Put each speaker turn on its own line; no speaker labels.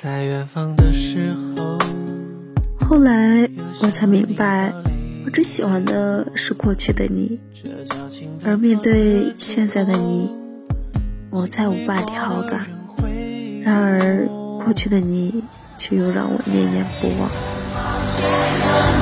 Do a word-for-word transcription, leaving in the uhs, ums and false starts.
在远方的时候。
后来我才明白，我只喜欢的是过去的你，而面对现在的你，我再无半点好感。然而过去的你却又让我念念不忘。